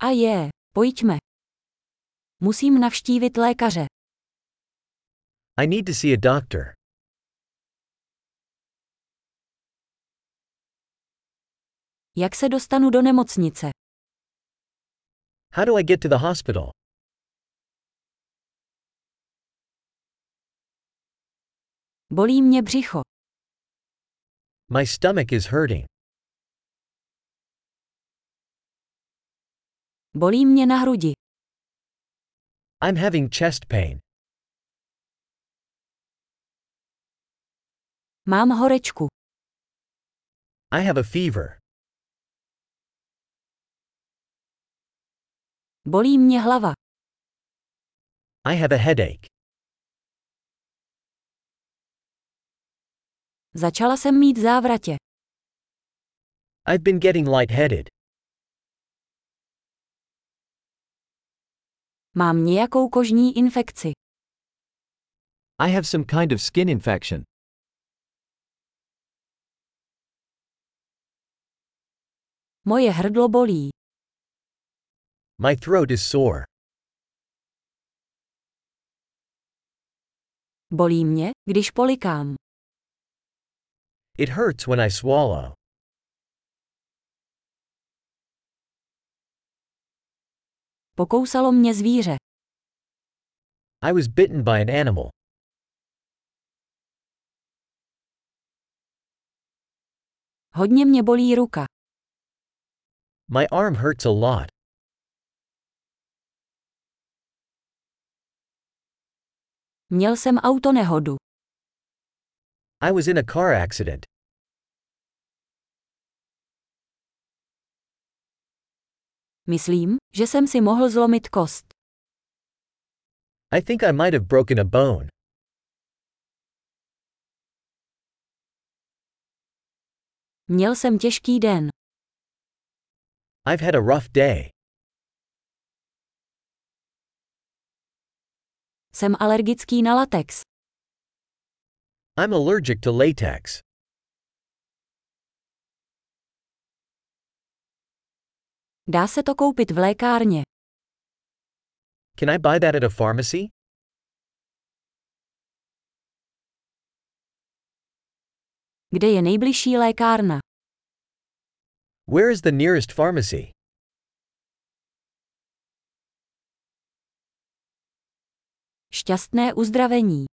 Pojďme. Musím navštívit lékaře. I need to see a doctor. Jak se dostanu do nemocnice? How do I get to the hospital? Bolí mě břicho. My stomach is hurting. Bolí mě na hrudi. I'm having chest pain. Mám horečku. I have a fever. Bolí mě hlava. I have a headache. Začala jsem mít závratě. I've been getting lightheaded. Mám nějakou kožní infekci. I have some kind of skin infection. Moje hrdlo bolí. My throat is sore. Bolí mě, když polikám. It hurts when I swallow. Pokousalo mě zvíře. I was bitten by an animal. Hodně mě bolí ruka. My arm hurts a lot. Měl jsem autonehodu. I was in a car accident. Myslím, že jsem si mohl zlomit kost. I think I might have broken a bone. Měl jsem těžký den. I've had a rough day. Jsem alergický na latex. I'm allergic to latex. Dá se to koupit v lékárně. Can I buy that at a pharmacy? Kde je nejbližší lékárna? Where is the nearest pharmacy? Šťastné uzdravení.